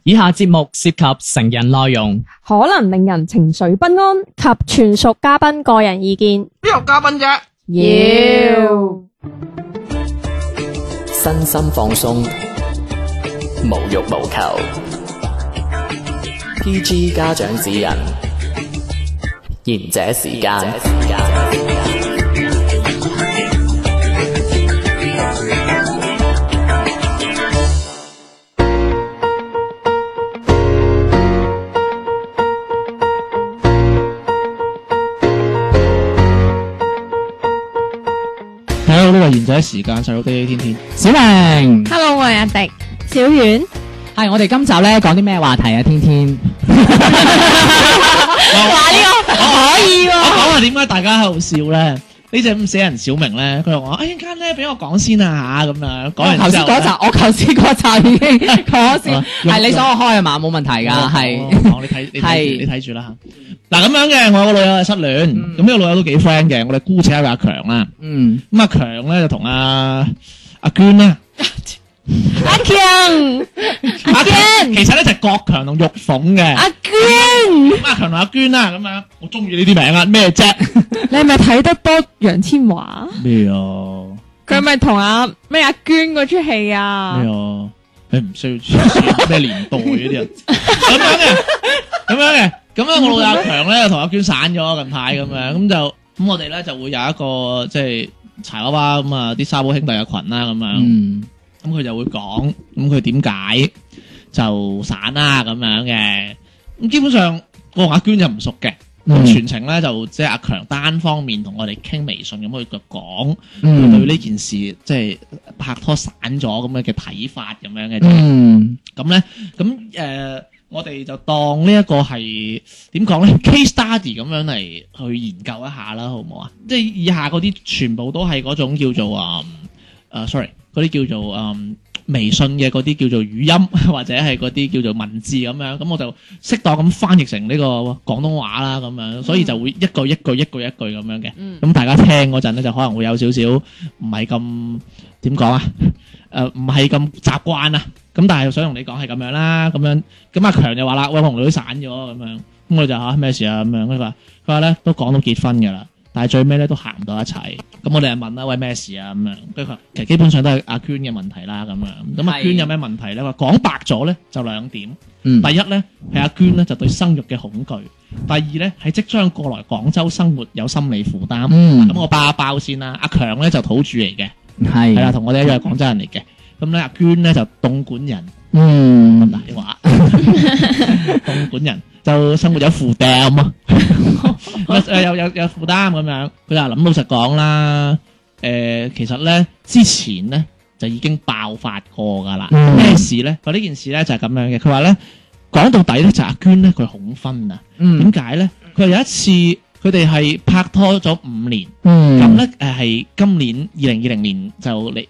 以下節目涉及成人內容， 可能令人情緒不安及全屬嘉賓個人意見。 邊有嘉賓啫？ 妖身心放鬆，無欲無求。PG 家長指引，賢者時間。 Hello， 呢個賢者時間細佬爹天天， 小明 ，Hello， 我係阿迪， 小遠， 係我哋今集咧講啲咩話題啊？天天， 話呢個可以喎。 我講下點解大家喺度笑咧？呢隻咁死人小明咧，佢話一陣間咧俾我講先啊嚇咁樣，講完之後咧， 我頭先嗰集已經講先，係你想我開啊嘛？冇問題㗎，係。 你睇住啦嚇。嗱咁樣嘅，我有個老友係失戀，咁呢個老友都幾 friend 嘅，我哋姑且叫阿強啦。咁阿強咧就同阿娟啦。 阿強， 其實咧就係國強同玉鳳嘅。 阿娟， 咁阿強同阿娟啦，咁樣我中意呢啲名啊，咩啫？ 你係咪睇得多楊千嬅？ 咩啊？ 佢係咪同阿娟嗰出戲啊？ 咩啊？你唔需要咩年代嗰啲人咁樣嘅。咁樣我老友阿強咧同阿娟散咗近排咁樣，咁我哋咧就會有一個即係柴娃娃咁啊啲沙煲兄弟嘅群啦咁樣，咁佢就會講咁佢點解就散啦咁樣嘅，咁基本上我同阿娟就唔熟嘅，全程咧就即係阿強單方面同我哋傾微信咁去講佢對呢件事即係拍拖散咗咁樣嘅睇法咁樣嘅，咁咧咁我哋就當呢一個係點講咧 case study 咁樣嚟去研究一下啦，好唔好啊？即係以下嗰啲全部都係嗰種叫做sorry 嗰啲叫做微信嘅嗰啲叫做語音或者係嗰啲叫做文字咁樣，咁我就適當咁翻譯成呢個廣東話啦咁樣，所以就會一句咁樣嘅。咁大家聽嗰陣咧就可能會有少少唔係咁點講啊？唔係咁習慣啊。咁但係想同你講係咁樣啦，咁樣咁阿強就話啦，喂，我同女散咗咁樣，咁我就咩事啊咁樣，佢話咧都講到結婚㗎啦，但係最尾咧都行唔到一齊，咁我哋就問啦，喂，咩事啊咁樣，佢話其實基本上都係阿娟嘅問題啦咁樣，咁阿娟有咩問題咧？話講白咗咧就兩點，第一咧係阿娟咧就對生育嘅恐懼，第二咧係即將過來廣州生活有心理負擔，咁我包一包先啦，阿強咧就土著嚟嘅，係啦，同我哋一樣係廣州人嚟嘅。咁咧阿娟咧就東莞人，咁大話，東莞人就生活有負擔啊，有負擔咁樣，佢就諗老實講啦，其實咧之前咧就已經爆發過噶啦，咩事咧？佢呢件事咧就係咁樣嘅，佢話咧講到底咧就阿娟咧佢恐婚啊，點解咧？佢話有一次。佢哋係拍拖咗5年，咁咧係今年2020年就嚟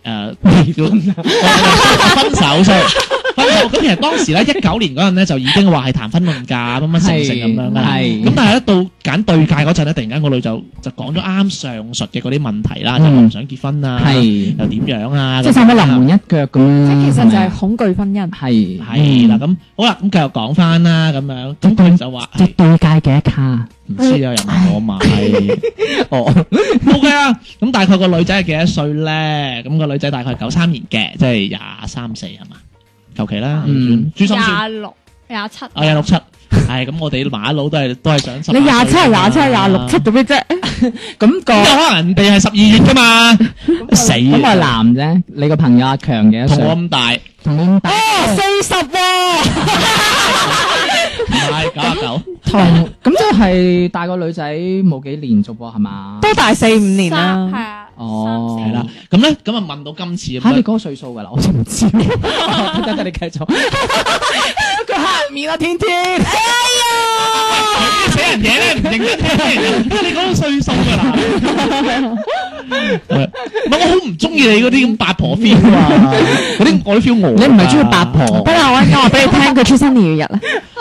分手，咁其實當時咧19年嗰陣咧就已經話係談婚論嫁乜乜成咁樣啦，咁但係咧到揀對戒嗰陣咧，突然間個女就講咗啱上述嘅嗰啲問題啦，就唔想結婚啊，又點樣啊， 即係差唔多臨門一腳咁樣， 即係其實就係恐懼婚姻， 係啦，咁好啦，咁繼續講翻啦，咁樣咁佢就話即係對戒幾多卡？ 唔知啊，又唔係我買，OK 啊。咁大概個女仔係幾多歲咧？咁個女仔大概93年嘅，即係23、24係嘛？求其啦，珠心算 26、27。 26、7，係咁我哋馬佬都係想10。 你27、27、26、7做咩啫？ 咁可能人哋係12月噶嘛？死咁係男啫，你個朋友阿強嘅， 同我咁大， 同你咁大 40喎。 唔係99， 同咁即係大個女仔冇幾年啫噃，係嘛？ 都大4、5年啦。 係啊。 哦， 係啦。咁咧，咁啊問到今次嚇你嗰個歲數㗎啦，我真唔知。得你繼續。佢黑面啦，天天。哎呀！死人嘢咧，唔認得聽。你講到歲數㗎啦。唔係我好唔中意你嗰啲咁八婆 feel 啊！嗰啲我都 feel 我。 你唔係中意八婆？ 不如我話俾你聽，佢出生年月日啦。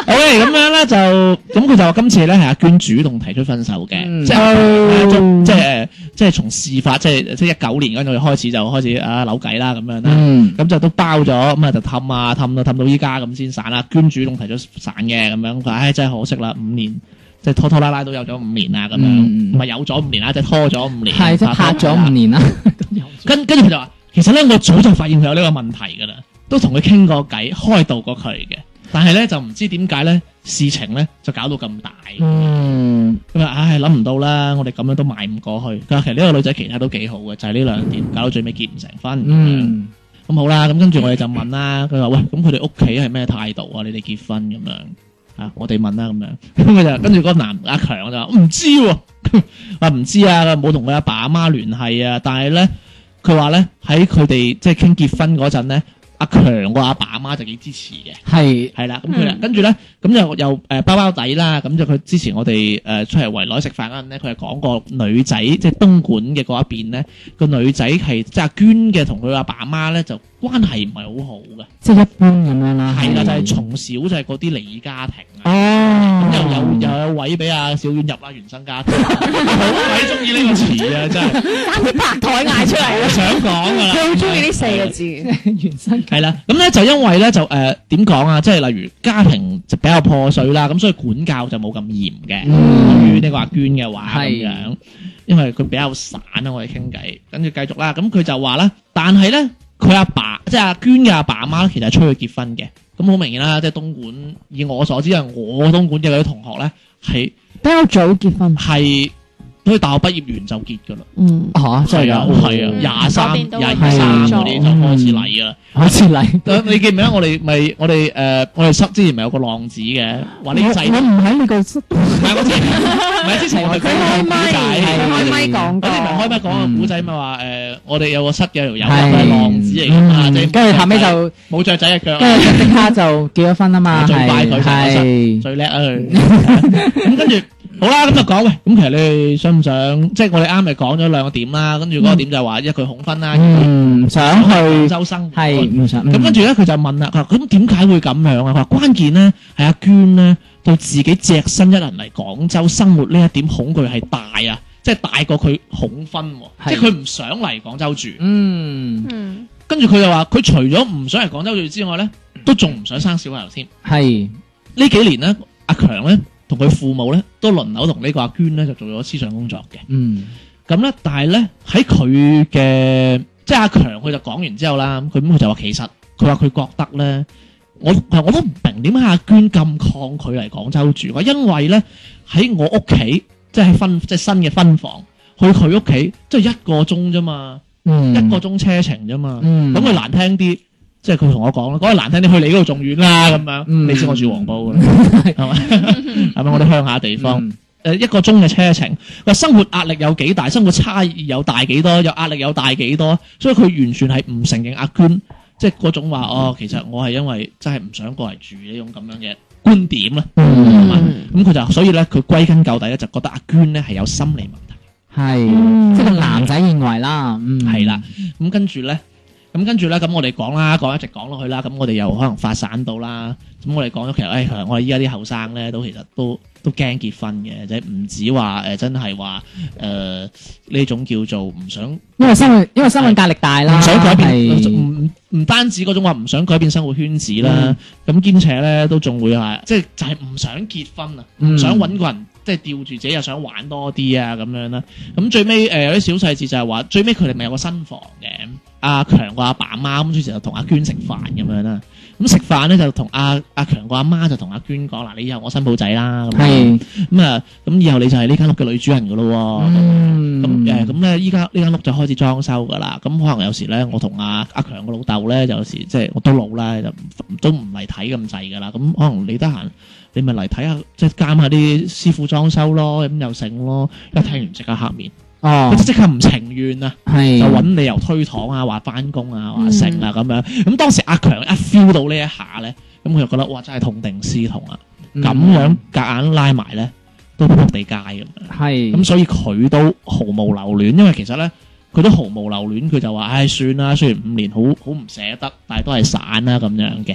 OK， 咁樣咧就咁佢就話今次咧係阿娟主動提出分手嘅，即係從事發即係19年嗰陣開始就開始扭計啦咁樣啦，咁就都包咗，咁啊就氹到依家咁先散啦。娟主動提出散嘅咁樣，佢話真係可惜啦，5年即係拖拖拉拉都有咗5年啦咁樣，唔係有咗5年啦，即係拖咗5年， 係即係拍咗5年啦。 跟住佢就話，其實咧我早就發現佢有呢個問題㗎啦，都同佢傾過偈，開導過佢嘅。但係咧就唔知點解咧事情咧就搞到咁大，咁啊諗唔到啦，我哋咁樣都邁唔過去。佢話其實呢個女仔其他都幾好嘅，就係呢兩點搞到最尾結唔成婚。咁好啦，咁跟住我哋就問啦，佢話喂，咁佢哋屋企係咩態度啊？你哋結婚咁樣我哋問啦咁樣，咁佢就跟住嗰個阿強就話唔知喎，話唔知啊，冇同佢阿爸阿媽聯繫啊，但係咧佢話咧喺佢哋即係傾結婚嗰陣咧。阿強個阿爸阿媽就幾支持嘅，係啦，咁佢跟住咧，咁又包包底啦，咁就佢之前我哋出嚟圍內食飯嗰陣咧，佢係講過女仔即係東莞嘅嗰一邊咧，個女仔係即係阿娟嘅同佢阿爸阿媽咧就關係唔係好好嘅， 即係一般咁樣啦。 係啦，就係從小就係嗰啲離異家庭啊，咁又有位俾阿小婉入啦，原生家庭，好鬼中意呢個詞啊，真係啱啲拍台嗌出嚟我想講噶啦， 佢好中意呢4個字， 原生係啦，咁咧就因為咧就點講啊，即係例如家庭就比較破碎啦，咁所以管教就冇咁嚴嘅。對於呢個阿娟嘅話咁樣，因為佢比較散啦，我哋傾偈，跟住繼續啦。咁佢就話啦，但係咧佢阿爸即係阿娟嘅阿爸阿媽，其實係催佢結婚嘅。咁好明顯啦，即係東莞，以我所知係我東莞嘅嗰啲同學咧係比較早結婚， 係佢大學畢業完就結噶啦。 真係啊， 係啊，23嗰啲就開始嚟噶啦， 開始嚟。 你記唔記得我哋之前咪有個浪子嘅，話呢個仔我唔喺呢個唔係之前我哋講個古仔， 開咪講過， 嗰啲唔係開咪講個古仔咪話我哋有個室嘅條友係浪子嚟㗎嘛，即係跟住後尾就冇雀仔嘅腳， 跟住即刻就結咗婚啊嘛， 最快佢係最叻啊佢。咁跟住好啦，咁就講喂，咁其實你哋想唔想？即係我哋啱咪講咗2個點啦，跟住嗰個點就係話一佢恐婚啦， 想去廣州生活， 係唔想。 咁跟住咧佢就問啦，佢話咁點解會咁樣啊？佢話關鍵咧係阿娟咧對自己隻身一人嚟廣州生活呢一點恐懼係大啊，即係大過佢恐婚，即係佢唔想嚟廣州住。跟住佢就話佢除咗唔想嚟廣州住之外咧，都仲唔想生小朋友添。係呢幾年咧，阿強咧。同佢父母咧都輪流同呢個阿娟咧就做咗思想工作嘅，咁咧但係咧喺佢嘅即係阿強佢就講完之後啦，佢就話其實佢話佢覺得咧，我都唔明點解阿娟咁抗拒嚟廣州住，因為咧喺我屋企即係即係新嘅分房去佢屋企即係1個鐘啫嘛，1個鐘車程啫嘛，咁佢難聽啲。即係佢同我講啦，講得難聽啲，去你嗰度仲遠啦咁樣。你知我住黃埔嘅，係咪？係咪我哋鄉下地方？1個鐘嘅車程，話生活壓力有幾大，生活差異有大幾多，有壓力有大幾多，所以佢完全係唔承認阿娟，即係嗰種話其實我係因為真係唔想過嚟住呢種咁樣嘅觀點啦。咁佢就所以咧，佢歸根究底咧就覺得阿娟咧係有心理問題， 係即係個男仔認為啦， 係啦。咁跟住咧。咁我哋講啦，一直講落去啦，咁我哋又可能發散到啦。咁我哋講咗其實，我哋依家啲後生咧都其實都驚結婚嘅，即係唔止話真係話呢種叫做唔想，因為生活壓力大啦，唔想改變，唔單止嗰種話唔想改變生活圈子啦，咁兼且咧都仲會係即係就係唔想結婚啊，唔想揾個人即係吊住自己又想玩多啲啊咁樣啦。咁最尾有啲小細節就係話最尾佢哋咪有個新房嘅。阿強個阿爸阿媽咁，於是就同阿娟食飯咁樣啦。咁食飯咧就同阿強個阿媽就同阿娟講嗱，你以後我新抱仔啦。係咁以後你就係呢間屋嘅女主人噶咯。咁咧依家呢間屋就開始裝修噶啦。咁可能有時咧，我同阿強個老豆咧，就有時即係我都老啦，就都唔嚟睇咁滯噶啦。咁可能你得閒，你咪嚟睇下，即係監下啲師傅裝修咯，咁又成咯。一聽完即刻黑面。佢即刻唔情願啊，就揾理由推搪啊，話翻工啊，話成啊咁樣。咁當時阿強一 feel 到呢一下咧，咁佢就覺得哇，真係痛定思痛啊！咁樣夾硬拉埋咧，都撲地街咁樣。咁所以佢都毫無留戀，因為其實咧佢都毫無留戀，佢就話唉算啦，雖然5年好唔捨得，但係都係散啦咁樣嘅。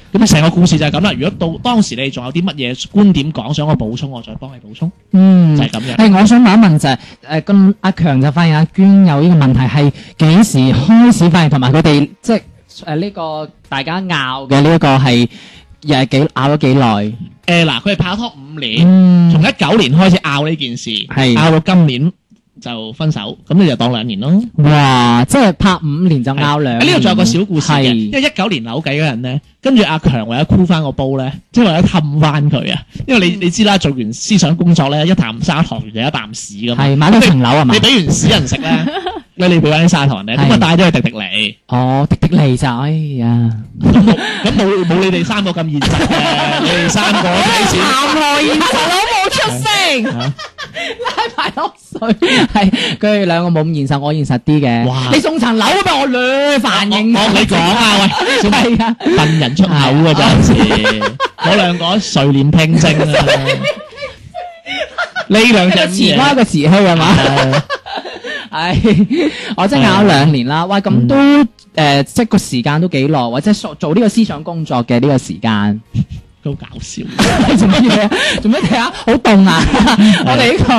咁成個故事就係咁啦。如果到當時你仲有啲乜嘢觀點講，想我補充，我再幫你補充，就係咁樣。 係，我想問一問就係咁阿強就發現阿娟有呢個問題係幾時開始發現，同埋佢哋即係呢個大家拗嘅呢一個係又係拗咗幾耐？ 嗱，佢係拍拖5年，從19年開始拗呢件事，拗到今年就分手，咁你就當2年咯。 哇！即係拍5年就拗2年。 呢度仲有個小故事嘅，因為19年扭計嗰人咧，跟住阿強為咗箍翻個煲咧，即係為咗氹翻佢啊。因為你知啦，做完思想工作咧，一啖砂糖就一啖屎咁。係買咗層樓啊嘛？ 你俾完屎人食咧，你俾翻啲砂糖咧，咁啊帶咗去迪尼。 哦，迪尼就哎呀， 咁冇你哋3個咁現實嘅，你哋3個睇錢。 談何現實都冇出聲。 拉埋落水，係佢哋兩個冇咁現實，我現實啲嘅。哇！你送層樓俾我兩反應。 我你講啊，喂，係啊，笨人出口啊，陣時嗰兩個垂簾聽政啊，呢兩隻詞花個詞氣係嘛？係，我真係拗2年啦。喂，咁都即係個時間都幾耐，或者做呢個思想工作嘅呢個時間。 都搞笑， 做乜嘢？做乜嘢啊？好凍啊！我哋呢個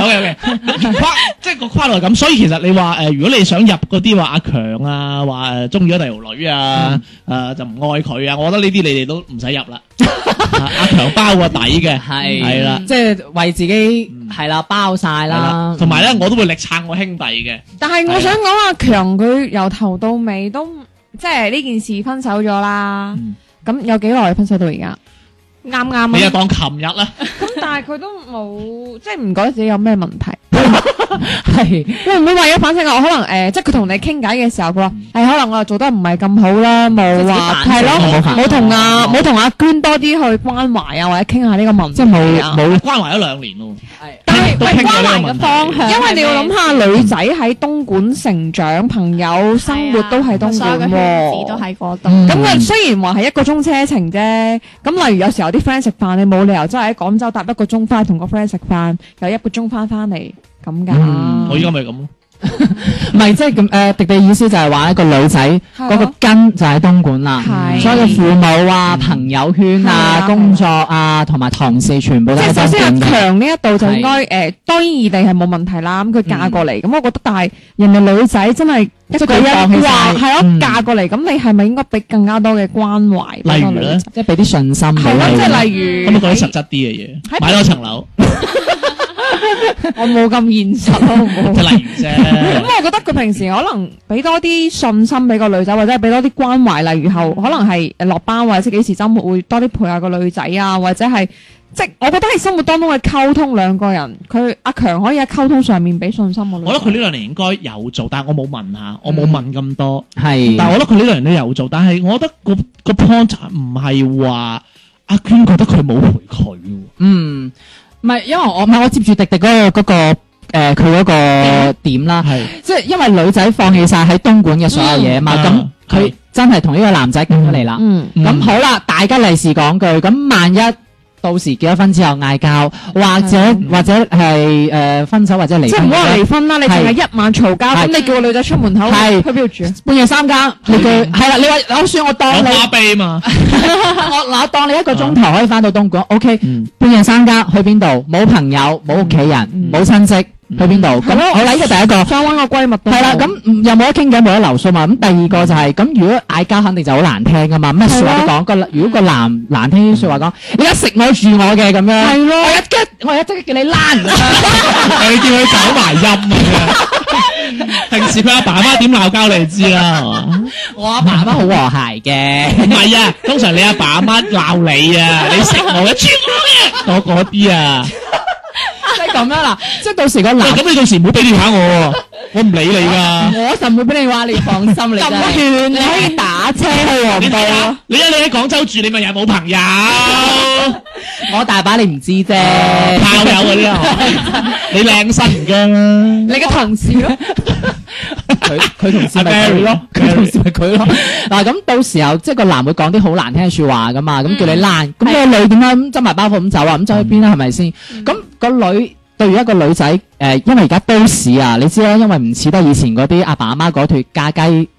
OK， 即係個跨度係咁，所以其實你話如果你想入嗰啲話阿強啊，話中意咗第條女啊，就唔愛佢啊，我覺得呢啲你哋都唔使入啦。阿強包個底嘅，係啦， 即係為自己係啦包晒啦。同埋咧，我都會力撐我兄弟嘅。 但係我想講阿強佢由頭到尾都即係呢件事分手咗啦。咁有幾耐分手到而家？啱啱你就當琴日啦。 咁但係佢都冇，即係唔覺得自己有咩問題。 係會唔會為咗反省我？可能即係佢同你傾偈嘅時候，佢話可能我又做得唔係咁好啦，冇話係咯，冇同阿娟多啲去關懷啊，或者傾下呢個問題， 即係冇關懷咗2年咯。 但係關懷嘅方向， 因為你要諗下女仔喺東莞成長，朋友生活都喺東莞喎， 都喺嗰度。 咁啊，雖然話係1個鐘車程啫，咁例如有時候啲 friend 食飯，你冇理由真係喺廣州搭1個鐘翻去同個 friend 食飯，又1個鐘翻嚟咁噶。 我依家咪咁咯。 唔係即係咁迪迪意思就係話一個女仔嗰個根就喺東莞啦，所以父母啊、朋友圈啊、工作啊同埋同事全部都喺東莞嘅。即係首先阿強呢一度就應該當然異地係冇問題啦。咁佢嫁過嚟，咁我覺得但係人哋女仔真係一句一話係咯，嫁過嚟，咁你係咪應該俾更加多嘅關懷？ 例如咧， 即係俾啲信心。 係咯，即係例如咁啊，講啲實質啲嘅嘢，買多層樓。 我冇咁現實咯，冇。 即係例如啫。 咁我覺得佢平時可能俾多啲信心俾個女仔，或者係俾多啲關懷。例如後可能係落班或者幾時週末會多啲陪下個女仔啊，或者係即係我覺得喺生活當中嘅溝通，兩個人佢阿強可以喺溝通上面俾信心我。 我覺得佢呢2年應該有做，但係我冇問下，我冇問咁多。 係， 但係我覺得佢呢2年都有做，但係我覺得個 point 唔係話阿娟覺得佢冇陪佢。 唔係，因為我接住迪迪嗰個佢嗰個點啦，即係因為女仔放棄晒喺東莞嘅所有嘢嘛，咁佢真係同呢個男仔揀咗嚟啦。咁好啦，大家利是講句，咁萬一到時結咗婚之後嗌交，或者係分手或者離婚， 即係唔好話離婚啦，你淨係一晚嘈交，咁你叫個女仔出門口去邊度住？ 半夜3更，你句係啦，你話我算我當你花唄嘛， 我當你1個鐘頭可以翻到東莞，OK，半夜3更去邊度？冇朋友，冇屋企人，冇親戚。去邊度？咁好啦，呢個第一個， 想搵個閨蜜都係啦。咁又冇得傾偈，冇得留數嘛。咁第二個就係咁，如果嗌交肯定就好難聽噶嘛。咩說話都講，如果個男難聽啲說話講，你而家食我住我嘅咁樣，係咯。我一即刻叫你躝， 你叫佢走埋音啊！平時佢阿爸阿媽點鬧交你知啦，係嘛？ 我阿爸阿媽好和諧嘅， 唔係啊，通常你阿爸阿媽鬧你啊，你食我嘅，住我嘅，嗰啲啊。 即係咁樣啦，即係到時個男， 咁你到時唔好俾電話我，我唔理你噶。 我就唔會俾你話，你放心你。咁遠你可以打車去黃埔咯。 你喺廣州住，你咪又冇朋友。 我大把你唔知啫， 炮友嗰啲啊，你靚身唔驚啦。 你嘅同事咯， 佢同事咪佢咯，佢同事咪佢咯。嗱咁到時候即係個男會講啲好難聽嘅說話噶嘛，咁叫你躝，咁個女點解咁執埋包袱咁走啊？咁走去邊啦？係咪先？咁個女對於一個女仔，因為而家都市啊，你知啦，因為唔似得以前嗰啲阿爸阿媽嗰脫嫁雞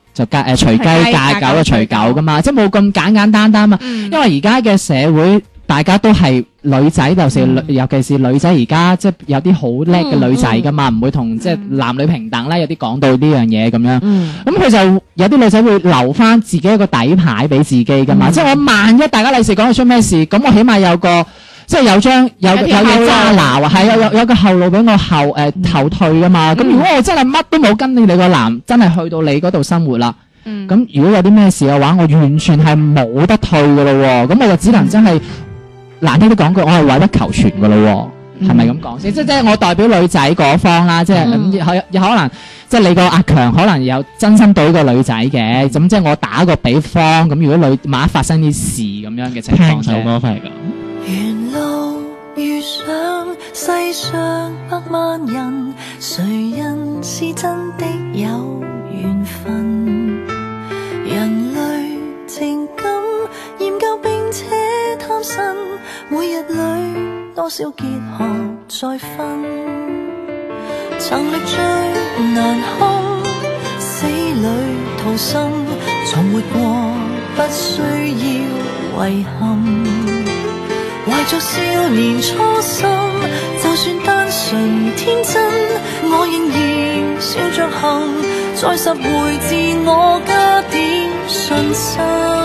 就隨雞嫁狗就隨狗噶嘛，即係冇咁簡簡單單嘛。因為而家嘅社會大家都係女仔，尤其是女仔而家即係有啲好叻嘅女仔噶嘛，唔會同即係男女平等咧，有啲講到呢樣嘢咁樣。咁佢就有啲女仔會留翻自己一個底牌俾自己噶嘛，即係我萬一大家利是講到出咩事，咁我起碼有個。即係有嘢揸拿啊，係有個後路俾我後退噶嘛。咁如果我真係乜都冇跟你個男，真係去到你嗰度生活啦。咁如果有啲咩事嘅話，我完全係冇得退噶咯喎。咁我就只能真係難聽啲講句，我係委屈求全噶咯喎。係咪咁講先？即係我代表女仔嗰方啦，即係有可能即係你個阿強可能有真心對個女仔嘅。咁即係我打個比方，咁如果萬一發生啲事咁樣嘅情況， 首歌翻嚟㗎。 沿路遇上世上百萬人，誰人是真的有緣分？人類情感研究並且貪新，每日裏多少結合再分，曾歷最難堪，死裏逃生，從活過不需要遺憾。懷着少年初心，就算單純天真，我仍然笑着行，再拾回自我加點信心。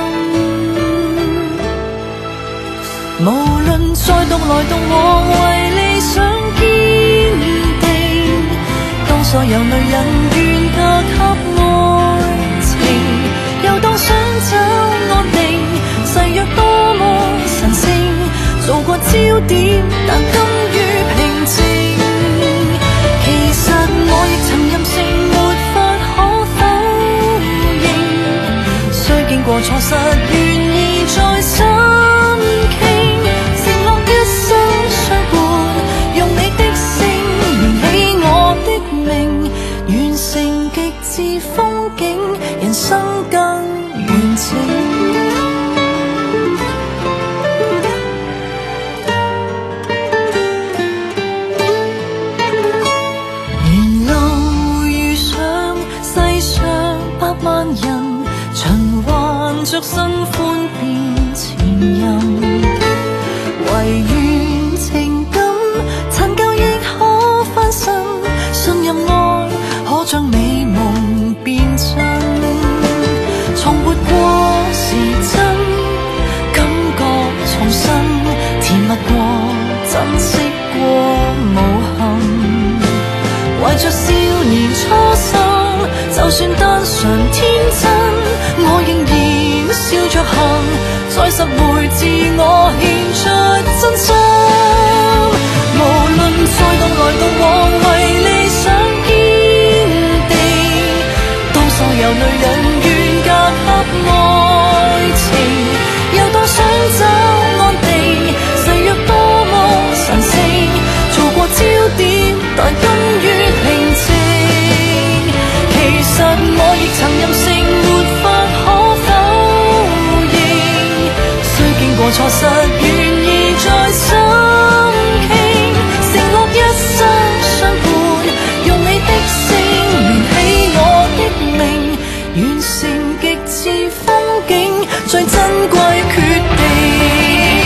無論再獨來獨往，為理想堅定，當所有女人願嫁給愛情，又當想找安定，誓約多麼神聖，做過焦點，但甘於平靜。其實我亦曾任性，沒法可否認。雖經過錯失，願意再深傾，承諾一生相伴，用你的姓連起我的名，完成極致風景，人生更完整。着新歡變前任，唯願情感殘舊亦可翻身，信任愛可將美夢變真。重活過是真，感覺重新甜蜜過，珍惜過無憾。懷着少年初心，就算單純天真，我仍然笑着行，再拾回自我，獻出真心。無論再獨來獨往，為理想堅定，當所有女人願嫁給愛情，又當想找安定，誓約多麼神聖，做過焦點，但甘於平靜。其實我亦曾任性，沒法可否過錯失，願意再深傾，承諾一生相伴，用你的姓連起我的名，完成極致風景，最珍貴決定。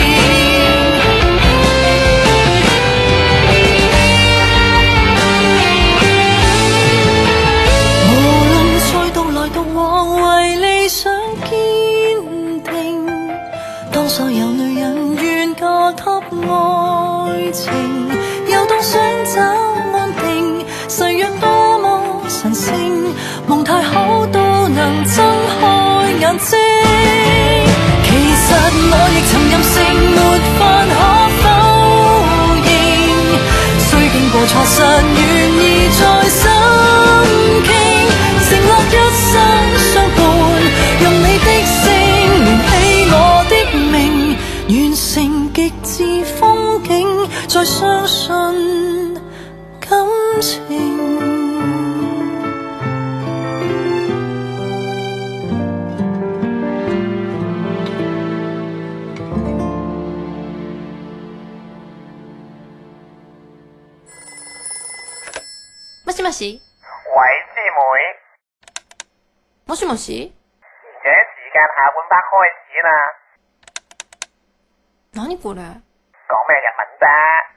無論再獨來獨往，為理想堅定，當所有女人願嫁給愛情，又當想找安定，誓約多麼神聖，夢太好都能睜開眼睛。其實我亦曾任性，沒法可否認，雖經過錯失，願意再深傾，承諾一生相伴，用你的姓連起我的名，完成極致風景，再相信感情。 もしもし。 喂，師妹。 もしもし？ 賢者時間下半 part 開始啦。 何これ？ 講咩日文啫？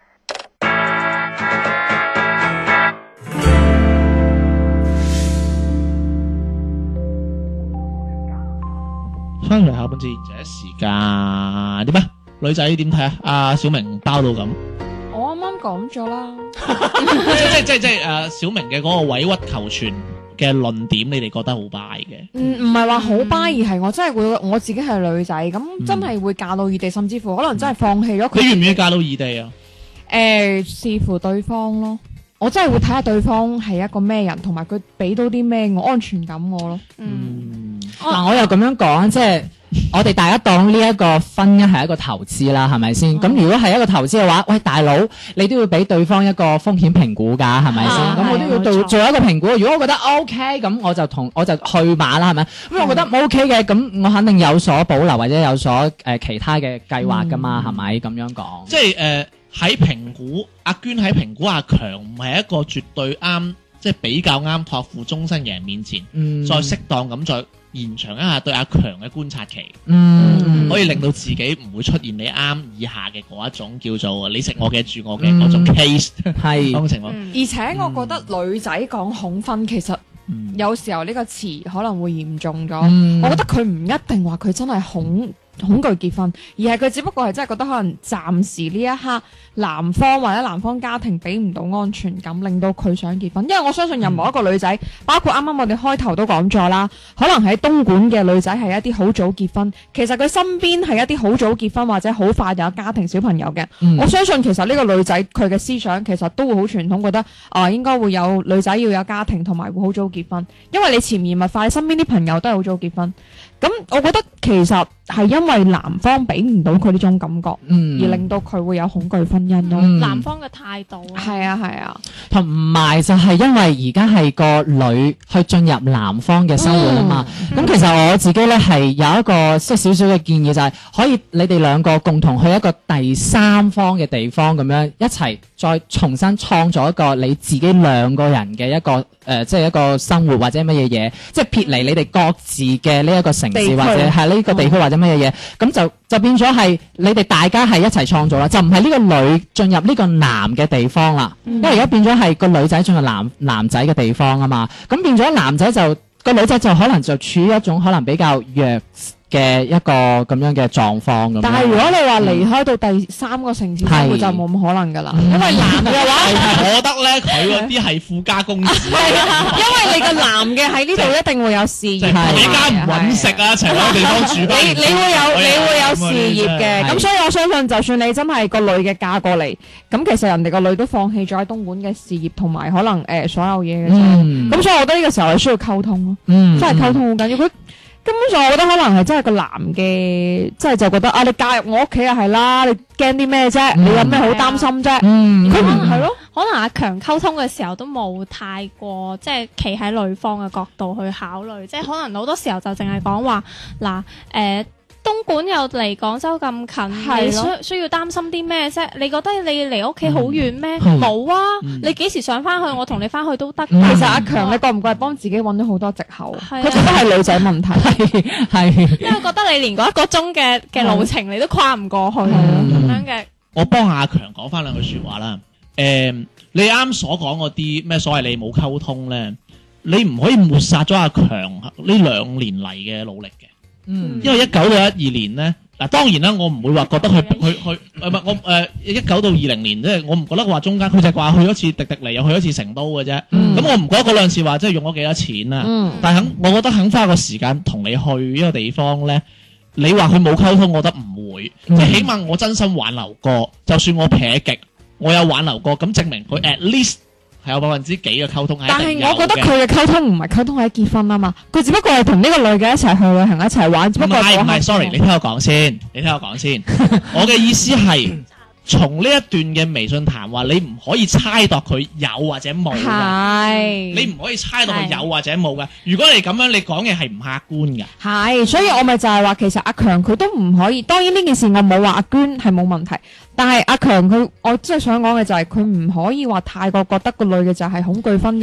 翻嚟下半節賢者時間點啊？女仔點睇啊？阿小明包到咁， 我啱啱講咗啦。 即小明嘅嗰個委屈求全嘅論點，你哋覺得好 buy 嘅？ 唔係話好 buy，而係我真係會我自己係女仔，咁真係會嫁到異地，甚至乎可能真係放棄咗佢。 你願唔願意嫁到異地啊？ 視乎對方咯。我真係會睇下對方係一個咩人，同埋佢俾到啲咩安全感我咯。 嗱，我又咁樣講，即係我哋大家當呢一個婚姻係一個投資啦，係咪先？咁如果係一個投資嘅話，喂，大佬，你都要俾對方一個風險評估㗎，係咪先？咁我都要做一個評估。如果我覺得 OK，咁我就去馬啦，係咪？咁我覺得唔 OK 嘅，咁我肯定有所保留或者有所其他嘅計劃㗎嘛，係咪咁樣講？ 即係喺評估阿娟喺評估阿強唔係一個絕對啱，即係比較啱託付終身嘅人面前，再適當咁再延長一下對阿強嘅觀察期，可以令到自己唔會出現你啱以下嘅嗰一種叫做你食我嘅住我嘅嗰種 case 係咁嘅情況。 而且我覺得女仔講恐婚其實有時候呢個詞可能會嚴重咗。我覺得佢唔一定話佢真係恐懼結婚，而係佢只不過係真係覺得可能暫時呢一刻男方或者男方家庭俾唔到安全感，令到佢想結婚。因為我相信任何一個女仔，包括啱啱我哋開頭都講咗啦，可能喺東莞嘅女仔係一啲好早結婚，其實佢身邊係一啲好早結婚或者好快就有家庭小朋友嘅。我相信其實呢個女仔佢嘅思想其實都會好傳統，覺得應該會有女仔要有家庭同埋會好早結婚，因為你潛移默化，你身邊啲朋友都係好早結婚。咁我覺得其實係因為男方俾唔到佢呢種感覺，而令到佢會有恐懼婚姻咯。 男方嘅態度係啊， 同埋就係因為而家係個女去進入男方嘅生活啊嘛。咁其實我自己咧係有一個即係少少嘅建議，就係可以你哋兩個共同去一個第三方嘅地方咁樣一齊再重新創造一個你自己兩個人嘅一個即係一個生活或者乜嘢嘢，即係撇離你哋各自嘅呢一個城市或者係呢個地區或者乜嘢嘢，咁就變咗係你哋大家係一齊創造啦，就唔係呢個女進入呢個男嘅地方啦，因為而家變咗係個女仔進入男仔嘅地方啊嘛，咁變咗男仔就個女仔就可能就處於一種可能比較弱嘅一個咁樣嘅狀況咁。 但係如果你話離開到第三個城市生活就冇咁可能㗎啦，因為男嘅話， 我覺得咧佢嗰啲係富家公子， 係啊，因為你個男嘅喺呢度一定會有事業， 你家唔揾食啊，一齊揾個地方住。 你會有事業嘅，咁所以我相信就算你真係個女嘅嫁過嚟，咁其實人哋個女都放棄咗喺東莞嘅事業同埋可能所有嘢嘅啫。咁所以我覺得呢個時候係需要溝通咯，真係溝通好緊要。佢根本上我覺得可能係真係個男嘅，即係就覺得你嫁入我屋企啊係啦，你驚啲咩啫？你有咩好擔心啫？佢可能係咯， 可能阿強溝通嘅時候都冇太過即係企喺女方嘅角度去考慮，即係可能好多時候就淨係講話嗱東莞又離廣州咁近，你需要擔心啲咩啫？你覺得你離屋企好遠咩？冇啊！你幾時想翻去？我同你翻去都得。 其實阿強，你覺唔覺係幫自己揾咗好多藉口？佢覺得係女仔問題， 係因為覺得你連嗰1個鐘嘅路程你都跨唔過去咁樣嘅。我幫阿強講翻兩句説話啦。你啱所講嗰啲咩所謂你冇溝通咧，你唔可以抹殺咗阿強呢2年嚟嘅努力嘅。因為19到12年咧，嗱當然啦，我唔會話覺得佢唔係我19到20年，即係我唔覺得話中間佢就係話去咗次迪迪尼，又去咗次成都嘅啫。咁我唔覺得嗰兩次話即係用咗幾多錢啦。但係我覺得肯花個時間同你去一個地方咧，你話佢冇溝通，我覺得唔會。即係起碼我真心挽留過，就算我撇極，我有挽留過，咁證明佢 at least。係有%幾嘅溝通， 但係我覺得佢嘅溝通唔係溝通喺結婚啊嘛，佢只不過係同呢個女嘅一齊去旅行一齊玩，只不過唔係 sorry， 你聽我講先，我嘅意思係從呢一段嘅微信談話，你唔可以猜度佢有或者冇嘅，你唔可以猜度佢有或者冇嘅。如果你咁樣，你講嘅係唔客觀嘅。 係，所以我咪就係話，其實阿強佢都唔可以。當然呢件事我冇話阿娟係冇問題。但係阿強佢，我真係想講嘅就係佢唔可以話太過覺得個女嘅就係恐懼婚姻，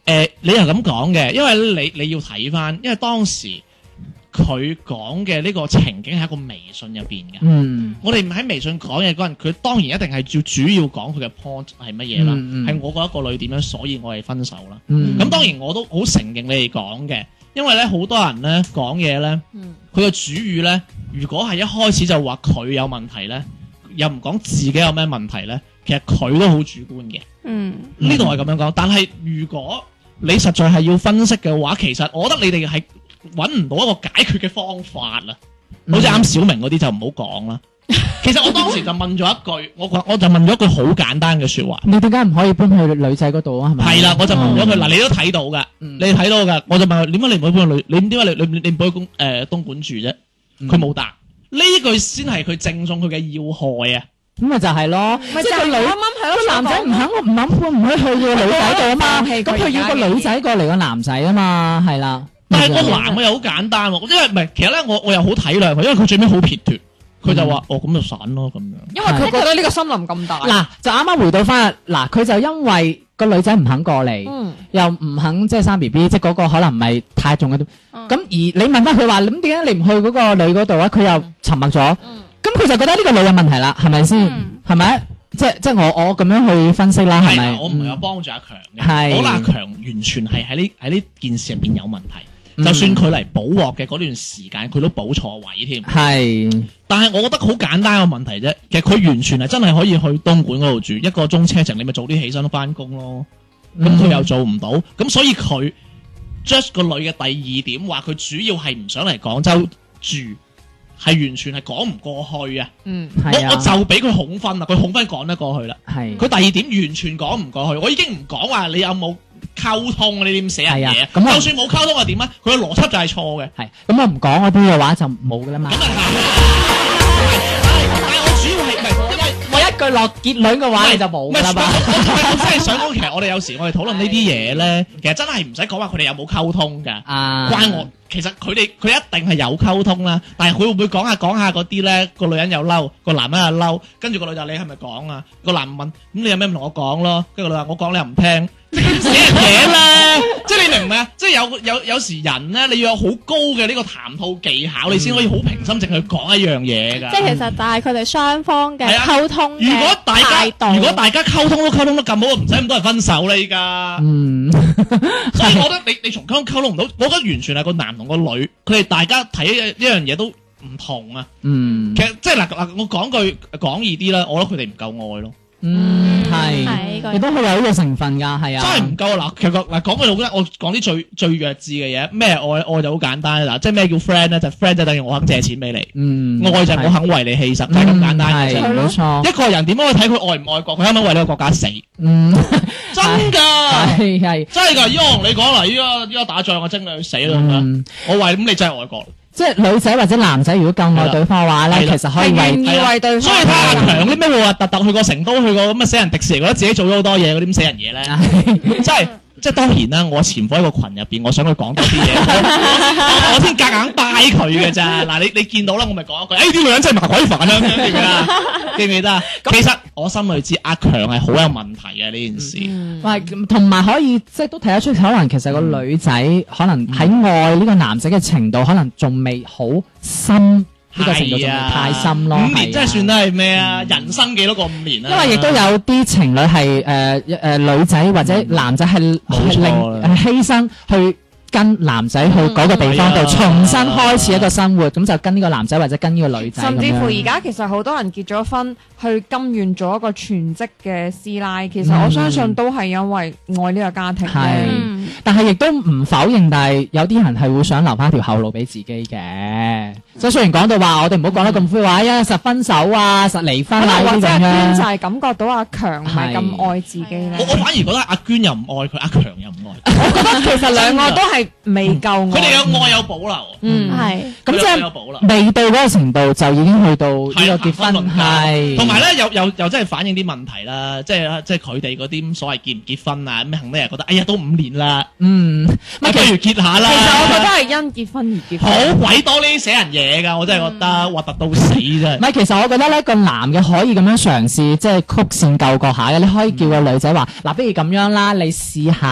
你又咁講嘅，因為你要睇翻，因為當時佢講嘅呢個情景係一個微信入邊嘅。我哋唔喺微信講嘢嗰陣，佢當然一定係要主要講佢嘅 point 係乜嘢啦，係我覺得個女點樣，所以我哋分手啦。咁當然我都好承認你哋講嘅，因為咧好多人咧講嘢咧，佢嘅主語咧，如果係一開始就話佢有問題咧，又唔講自己有咩問題咧，其實佢都好主觀嘅。呢度係咁樣講，但係如果你實在係要分析嘅話，其實我覺得你哋係揾唔到一個解決嘅方法啦。好似啱小明嗰啲就唔好講啦。其實我當時就問咗一句，我就問咗一句好簡單嘅説話。 你點解唔可以搬去女仔嗰度啊？係咪？ 係啦，我就問咗佢嗱，你都睇到㗎，你睇到㗎，我就問佢點解你唔可以搬去你點解你唔可以東莞住啫？佢冇答。呢句先係佢正中佢嘅要害啊！ 咁咪就係咯，即係個女啱啱係咯，個男仔唔肯搬唔去個女仔度啊嘛，咁佢要個女仔過嚟個男仔啊嘛，係啦。 但係個男嘅又好簡單喎，因為唔係，其實咧我又好體諒佢，因為佢最尾好撇脫，佢就話咁就散咯咁樣。 因為佢覺得呢個森林咁大。 嗱，就啱啱回到翻嗱，佢就因為個女仔唔肯過嚟，又唔肯即係生 BB，即係嗰個可能唔係太重嘅。咁而你問翻佢話，咁點解你唔去嗰個女嗰度啊？佢又沉默咗。咁佢就覺得呢個女有問題啦，係咪先？係咪？即係我咁樣去分析啦，係咪？ 我唔係有幫助阿強嘅，我覺得阿強完全係喺呢件事入邊有問題。就算佢嚟補鑊嘅嗰段時間，佢都補錯位添。係，但係我覺得好簡單嘅問題啫。其實佢完全係真係可以去東莞嗰度住1個鐘車程，你咪早啲起身翻工咯。咁佢又做唔到，咁所以佢 judge 個女嘅第二點話佢主要係唔想嚟廣州住。係完全係講唔過去啊！我就俾佢恐婚啦，佢恐婚講得過去啦。係佢第二點完全講唔過去，我已經唔講話你有冇溝通，你點寫人嘢？就算冇溝通係點啊？佢嘅邏輯就係錯嘅。係咁我唔講嗰啲嘅話就冇噶啦嘛。咁但係我主要係唔係因為我一句落結論嘅話你就冇噶啦嘛。我真係想講，其實我哋有時我哋討論呢啲嘢咧，其實真係唔使講話佢哋有冇溝通㗎。關我。其實佢一定係有溝通啦，但係佢會唔會講下嗰啲咧？個女人又嬲，個男人又嬲，跟住個女就你係咪講啊？個男問咁你有咩唔同我講咯？跟住個女話我講你又唔聽，寫人嘢啦！即係你明唔明啊？即係有時人咧，你要有好高嘅呢個談吐技巧，你先可以好平心靜氣去講一樣嘢㗎。 即係其實就係佢哋雙方嘅溝通嘅態度。 如果大家溝通都溝通得咁好，唔使咁多人分手啦依家。所以我覺得你從溝通唔到，我覺得完全係個男同個女，佢哋大家睇一樣嘢都唔同啊。其實即係嗱，我講句講易啲啦，我覺得佢哋唔夠愛咯。係，亦都係有呢個成分㗎，係啊。真係唔夠嗱，其實嗱講句老實，我講啲最弱智嘅嘢，咩愛就好簡單嗱，即係咩叫 friend 咧？就 friend 就等於我肯借錢俾你，愛就係我肯為你犧牲，就係咁簡單嘅啫。冇錯。一個人點樣去睇佢愛唔愛國？佢肯唔肯為呢個國家死？真㗎，係真係㗎。依家我同你講啦，依家打仗我真係去死啦咁樣。我為咁你真係愛國。即係女仔或者男仔，如果夠愛對方嘅話咧，其實可以為對方。所以睇阿強啲咩活核突去過成都，去過咁嘅死人迪士尼，覺得自己做咗好多嘢，嗰啲咁死人嘢咧，真係。即係當然啦，我潛伏喺個群入邊，我想佢講多啲嘢，我先夾硬掰佢嘅咋。嗱，你見到啦，我咪講一句，啲女人真係麻鬼煩啊，記唔記得啊？其實我心裏知阿強係好有問題嘅呢件事，同埋可以即係都睇得出，可能其實個女仔可能喺愛呢個男仔嘅程度，可能仲未好深。呢個程度仲未太深咯，5年真係算得係咩啊？人生幾多個5年啊？因為亦都有啲情侶係女仔或者男仔係犧牲去跟男仔去嗰個地方度重新開始一個生活，咁就跟呢個男仔或者跟呢個女仔。甚至乎而家其實好多人結咗婚，去甘願做一個全職嘅師奶，其實我相信都係因為愛呢個家庭。但係亦都唔否認，但係有啲人係會想留翻條後路俾自己嘅。所以雖然講到話，我哋唔好講得咁灰話，實分手啊，實離婚啊，或者阿娟就係感覺到阿強唔係咁愛自己咧。我反而覺得阿娟又唔愛佢，阿強又唔愛。我覺得其實兩個都係未夠愛。佢哋有愛有保留。係。咁即係未到嗰個程度，就已經去到呢個結婚係。同埋咧，又真係反映啲問題啦，即係佢哋嗰啲所謂結唔結婚啊，咩肯定係覺得，哎呀都5年啦。不如結下啦。其實我覺得係因結婚而結婚。好鬼多呢啲死人嘢㗎，我真係覺得核突到死啫。唔係，其實我覺得咧，個男嘅可以咁樣嘗試，即係曲線救國下嘅。你可以叫個女仔話：嗱，不如咁樣啦，你試下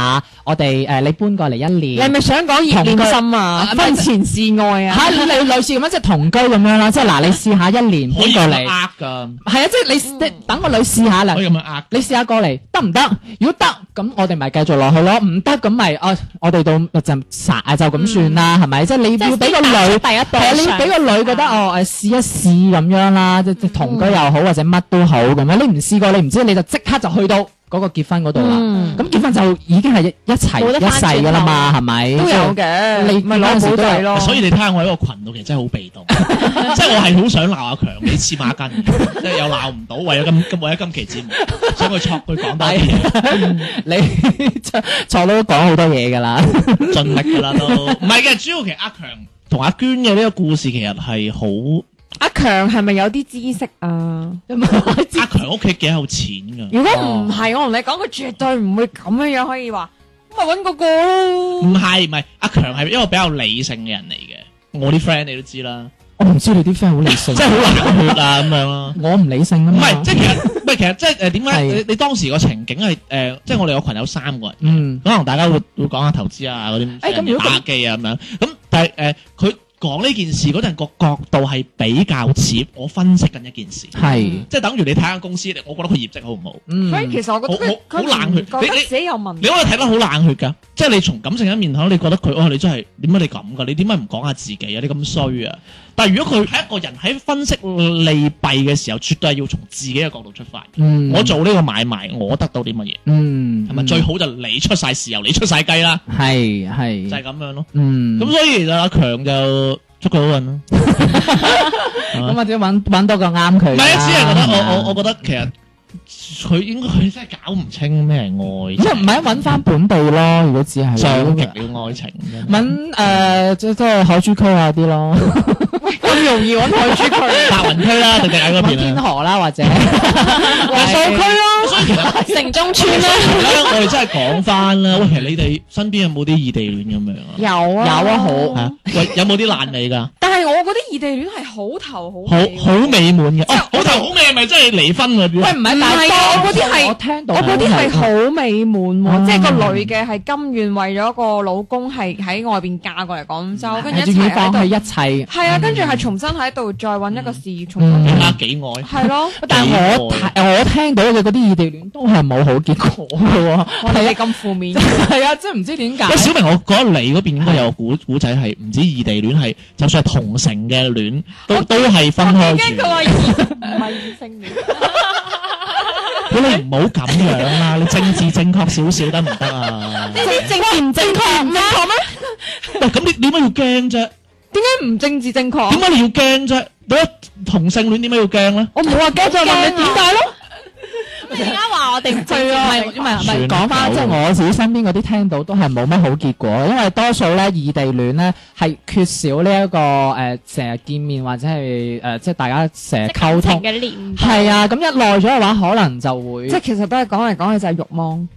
我哋你搬過嚟1年， 你係咪想講熱戀心啊？婚前試愛啊？ 嚇你類似咁樣即係同居咁樣啦，即係嗱你試下1年搬過嚟， 㗎， 係啊，即係你等個女試下啦， 可以咁樣呃， 你試下過嚟得唔得？如果得咁我哋咪繼續落去咯，唔得咁咪我哋到就咁算啦，係咪？即係你要俾個女第一步， 係啊，你要俾個女覺得試一試咁樣啦，即係同居又好或者乜都好咁樣，你唔試過你唔知，你就即刻就去到嗰個結婚嗰度啦。咁結婚就已經係一齊一世噶啦嘛，係咪？ 都有嘅， 你咪攞寶仔咯。 所以你睇下我喺個群度其實真係好被動，即係我係好想鬧阿強你黐孖筋，即係又鬧唔到，為咗今期節目，想佢戳佢講多啲嘢。 你錯都講好多嘢噶啦， 盡力噶啦都。唔係嘅，主要其實阿強同阿娟嘅呢個故事其實係好。 阿強係咪有啲知識啊？ 阿強屋企幾有錢㗎？ 如果唔係，我同你講，佢絕對唔會咁樣可以話，咁咪揾嗰個咯。 唔係，阿強係一個比較理性嘅人嚟嘅。我啲 friend 你都知啦。 我唔知你啲 friend 好理性， 即係好冷血啊咁樣咯。 我唔理性啊嘛。 唔係，即係其實即係點解你當時個情景係即係我哋個群有3個人，可能大家會講下投資啊嗰啲打機啊咁樣。咁但係佢講呢件事嗰陣個角度係比較似我分析緊一件事， 係即係等於你睇間公司，我覺得佢業績好唔好？ 所以其實我覺得好冷血， 覺得自己有問題。 你可以睇得好冷血㗎，即係你從感性一面睇，你覺得佢你真係點解你咁㗎？你點解唔講下自己啊？你咁衰啊！但係如果佢係一個人喺分析利弊嘅時候，絕對係要從自己嘅角度出發。我做呢個買賣，我得到啲乜嘢？係咪最好就你出晒豉油，你出晒雞啦？ 係就係咁樣咯。咁所以其實阿強就祝佢好運咯。 咁或者揾多個啱佢。 唔係啊，只係覺得我覺得其實。佢應該佢真係搞唔清咩係愛， 即係唔係揾翻本地咯？如果只係上極了愛情， 揾即係海珠區嗰啲咯。 咁容易揾海珠區、 白雲區啦，定喺嗰邊天河啦，或者黃埔區咯， 所以其實城中村啦。 我哋真係講翻啦，喂，其實你哋身邊有冇啲異地戀咁樣啊？ 有啊， 好喂，有冇啲爛尾㗎？ 但係我覺得異地戀係好頭好好美滿嘅。好頭好尾係咪真係離婚嗰啲？ 喂，唔係我嗰啲係我聽到， 我嗰啲係好美滿喎，即係個女嘅係甘願為咗個老公係喺外邊嫁過嚟廣州，跟住一齊喺度一齊。 係啊，跟住係重新喺度再揾一個事業，重新更加幾愛。 係咯， 但係我聽到嘅嗰啲異地戀都係冇好結果嘅喎。 我哋咁負面。 係啊，真係唔知點解。 小明，我覺得你嗰邊應該有個古仔係唔止異地戀，係就算係同城嘅戀，都係分開住。 驚佢話唔係異性戀。 你唔好咁樣啦，你政治正確少少得唔得啊？ 呢啲政治唔正確咩？ 喂，咁你點解要驚啫？ 點解唔政治正確？ 點解你要驚啫？嗰同性戀點解要驚咧？ 我冇話驚，就問你點解咯？ 而家話我哋唔係啊，唔係講翻，即係我自己身邊嗰啲聽到都係冇乜好結果，因為多數咧異地戀咧係缺少呢一個成日見面或者係即係大家成日溝通嘅連係啊，咁一耐咗嘅話，可能就會即係其實都係講嚟講去就係慾望。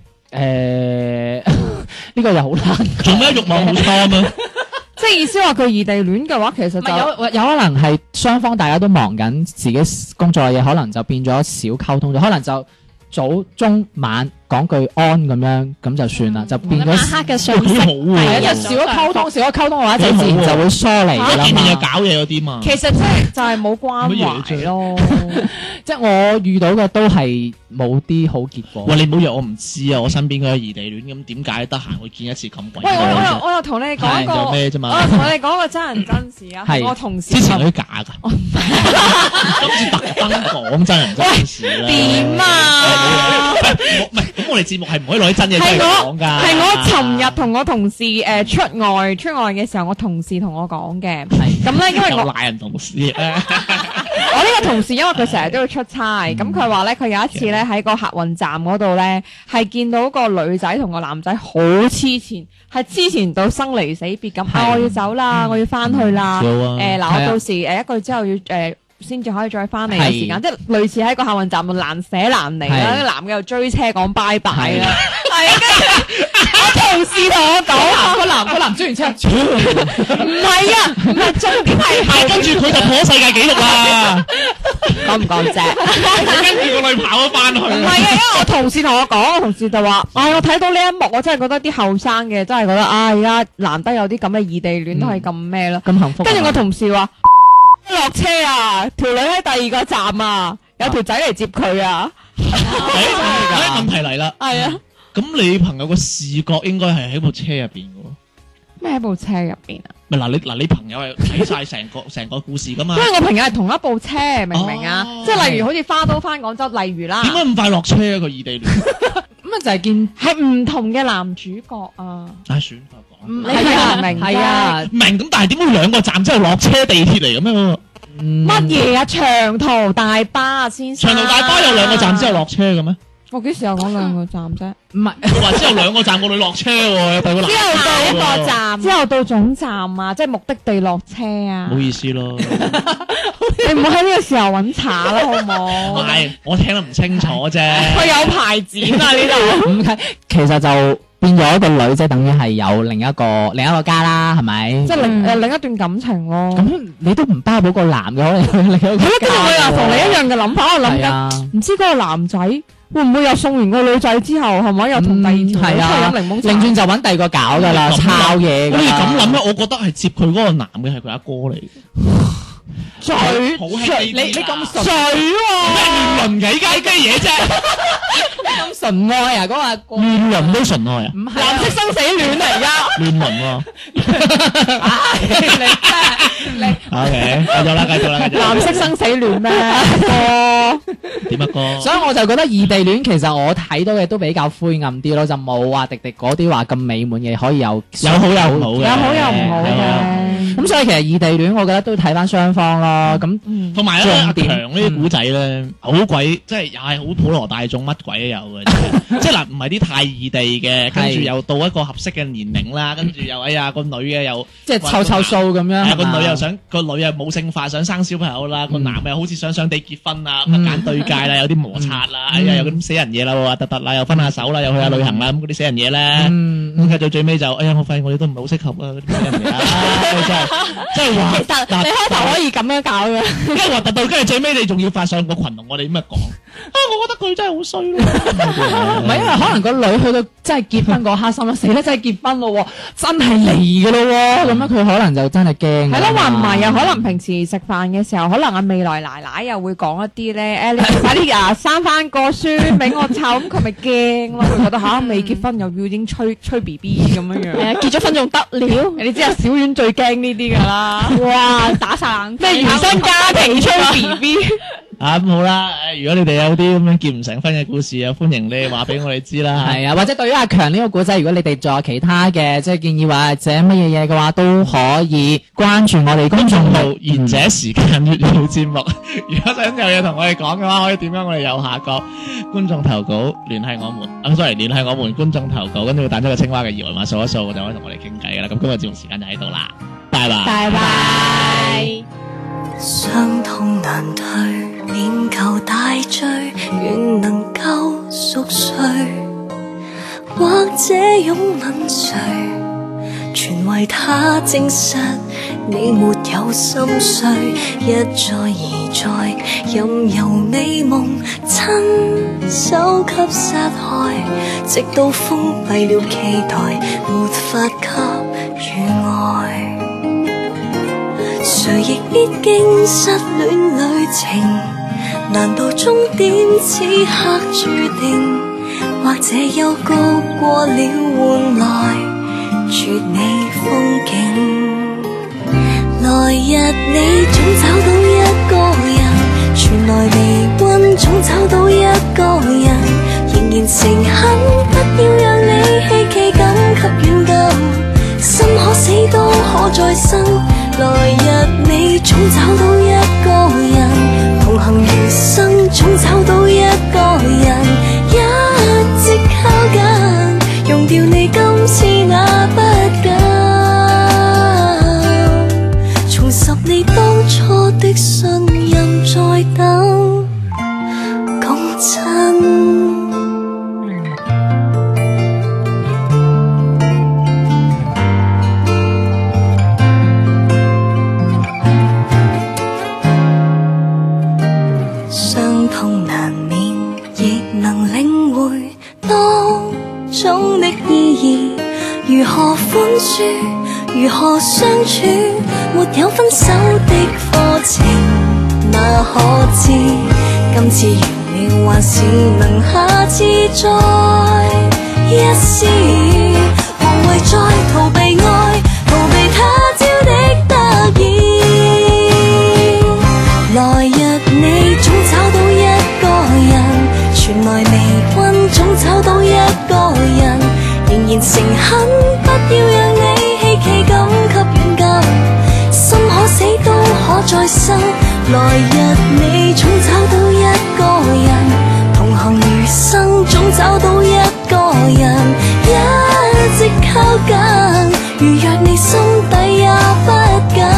呢個又好難做咩慾望好差啊？ 即係意思話佢異地戀嘅話，其實就有可能係雙方大家都忙緊自己工作嘅嘢，可能就變咗少溝通咗，可能就早中晚講句安咁樣，咁就算啦，就變咗晚黑嘅相識， 係啊，少咗溝通嘅話，就自然就會疏離㗎啦嘛。 見面又搞嘢嗰啲嘛。 其實即係就係冇關懷咯。 即係我遇到嘅都係冇啲好結果。 喂，你唔好以為我唔知啊！我身邊嗰啲異地戀咁，點解得閒會見一次咁鬼？ 喂，我又同你講一個，我又同你講個真人真事啊！我同事之前嗰啲假㗎，今次特登講真人真事啦。 點啊？ 唔係，咁我哋節目係唔可以攞啲真嘢出嚟講㗎。 係我尋日同我同事出外嘅時候，我同事同我講嘅。咁咧，因為我賴人同事我呢個同事因為佢成日都要出差，咁佢話咧佢有一次咧喺個客運站嗰度咧，係見到個女仔同個男仔好黐纏，係黐纏到生離死別咁。我要走啦，我要翻去啦。嗱，我到時一個月之後要先至可以再翻嚟嘅時間，即係類似喺個客運站度難捨難離啦。個男嘅又追車講拜拜啦。係啊，跟住我同事同我講，個男追完車，唔係啊，唔係重點係跟住佢就破世界紀錄啦。 講唔講啫？ 跟住個女跑咗翻去。 唔係啊，因為我同事同我講，我同事就話：，唉，我睇到呢一幕，我真係覺得啲後生嘅真係覺得，而家難得有啲咁嘅異地戀都係咁咩咯， 咁幸福。 跟住我同事話：落車啊，條女喺第二個站啊，有條仔嚟接佢啊。 問題嚟啦。 係啊。 咁你朋友個視覺應該係喺部車入邊嘅喎。 咩喺部車入邊啊？ 咪你朋友係睇晒成個故事噶嘛？ 因為我朋友係同一部車，明唔明啊？即係例如好似花都翻廣州，例如啦。 點解咁快落車啊？個異地戀咁啊就係見係唔同嘅男主角啊。 唉，算法講。 你係明係啊， 明咁，但係點解兩個站之後落車地鐵嚟咁樣？ 乜嘢啊？長途大巴先生。 長途大巴有兩個站之後落車嘅咩？ 我幾時有講兩個站啫？ 唔係， 我話之後兩個站個女落車喎，有第個男。 之後到一個站，之後到總站啊，即係目的地落車啊。 唔好意思咯， 你唔好喺呢個時候揾茬啦，好唔好？ 唔係，我聽得唔清楚啫。 佢有牌子啊呢度。 唔係，其實就變咗一個女，即係等於係有另一個家啦，係咪？ 即係另一段感情咯。 咁你都唔包保個男嘅，可能有另一個家。 跟住我又同你一樣嘅諗法，我諗緊，唔知嗰個男仔會唔會又送完個女仔之後，係咪又同第二條女出去飲檸檬茶？ 擰轉就揾第二個搞㗎啦，抄嘢㗎啦。 你咁諗咧，我覺得係接佢嗰個男嘅係佢阿哥嚟。 水，你咁水咩亂倫嘅依家啲嘢啫？ 咁純愛啊，嗰個阿哥亂倫都純愛啊？ 唔係藍色生死戀嚟㗎。 亂倫喎。 你 OK，繼續啦。 藍色生死戀咩？哥點啊哥？ 所以我就覺得異地戀其實我睇到嘅都比較灰暗啲咯，就冇話迪迪嗰啲話咁美滿嘅，可以有好有唔好嘅， 有好有唔好嘅。 咁所以其實異地戀我覺得都睇翻雙方咯。咁同埋咧，阿強呢啲古仔咧，好鬼即係又係好普羅大眾，乜鬼都有嘅。即係嗱，唔係啲太異地嘅，跟住又到一個合適嘅年齡啦，跟住又哎呀個女嘅又即係湊數咁樣。 係個女又想個女又冇性化，想生小朋友啦。個男又好似想地結婚啊，咁揀對界啦，有啲摩擦啦，哎呀有啲死人嘢啦，突啦，又分下手啦，又去下旅行啦，咁嗰啲死人嘢咧。咁繼到最尾就哎呀，我發現我哋都唔係好適合啊，嗰啲死人嘢啊，真係話。 其實你開頭可以咁樣搞嘅， 跟住核突到，跟住最尾你仲要發上個群同我哋咁樣講啊！我覺得佢真係好衰咯。 唔係因為可能個女去到真係結婚嗰刻心啦，死啦真係結婚咯，真係嚟嘅咯喎，咁樣佢可能就真係驚。 係咯，話唔係啊，可能平時食飯嘅時候，可能阿未來奶奶又會講一啲咧，你快啲生翻個孫俾我湊，咁佢咪驚咯？佢覺得未結婚又要已經吹 B B 咁樣樣。 係啊，結咗婚仲得了？ 你知啊，小丸最驚呢啲㗎啦。 哇，打晒冷咩原生家庭吹 B B。 咁好啦，如果你哋有啲咁樣結唔成婚嘅故事啊，歡迎你話俾我哋知啦。 係啊，或者對於阿強呢個古仔，如果你哋仲有其他嘅即係建議或者乜嘢嘢嘅話，都可以關注我哋公眾號賢者時間粵語節目。如果想有嘢同我哋講嘅話，可以點樣我哋右下角觀眾投稿聯繫我們。sorry，聯繫我們觀眾投稿，跟住彈出個青蛙嘅二維碼掃一掃，就可以同我哋傾偈噶啦。咁今日節目時間就喺度啦，拜拜。 拜拜。 傷痛難退，念舊大醉，願能夠熟睡，或者擁吻誰，全為他證實你沒有心碎，一再而再，任由美夢親手給殺害，直到封閉了期待，沒法給予愛。誰亦必經失戀旅程，難道終點此刻注定？或者幽谷過了換來絕美風景。來日你總找到一個人，傳來微溫總找到一個人，仍然誠懇，不要讓你希冀感給軟禁，心可死都可再生。來日你總找到一個人，同行餘生總找到一個人，一直靠近，用掉你今次那不敢，重拾你當初的信任，再等共振。 傷痛難免，亦能領會當中的意義。如何寬恕，如何相處，沒有分手的課程，哪可知今次完了，還是能下次再一試。無謂再逃避愛，逃避他朝的得意。來日你總找到一個人，傳來微溫總找到一個人，仍然誠懇，不要讓你希冀感給軟禁，心可死都可再生。來日你總找到一個人，同行餘生總找到一個人，一直靠近，如若你心底也不敢，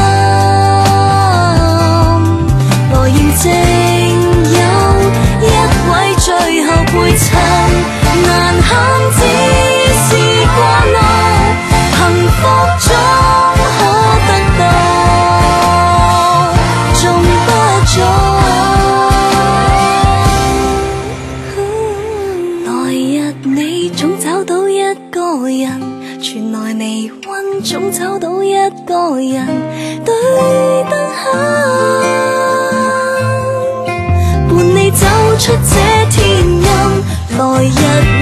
來驗證有一位最後陪襯，難堪只是掛礙，幸福中可得到，仲不早。來日你總找到一個人，傳來微溫總找到一個人，對燈下伴你走出這天陰。來日